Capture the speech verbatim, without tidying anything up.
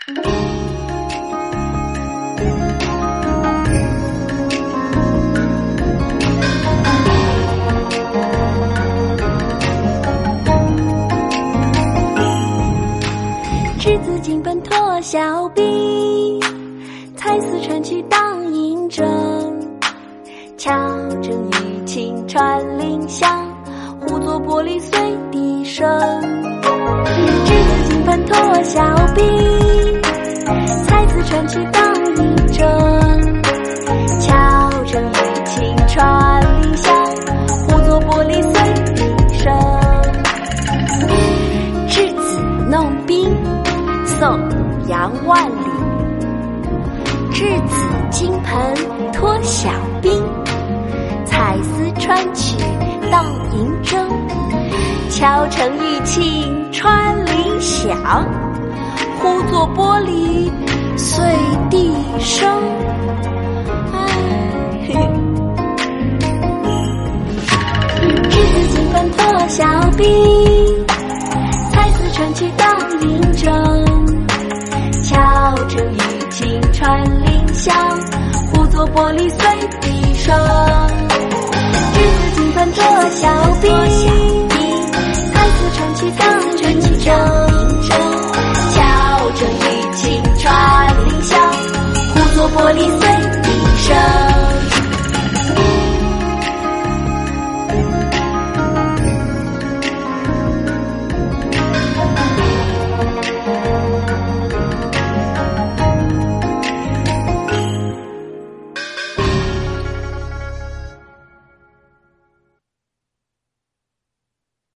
稚子金盆脱晓冰，彩丝穿去当银针。巧正玉磬传铃响，呼作玻璃随笛声。稚子金盆脱晓冰，彩丝穿去当银针。巧正玉磬传铃响，呼作玻璃随笛声。稚子弄冰，宋·杨万里。稚子金盆脱晓冰，彩丝穿去当银针。巧成玉磬传铃响，呼作玻璃随笛声。哎，稚子金盆脱晓冰，彩丝穿去当银针。巧成玉磬传铃响，呼作玻璃随笛声。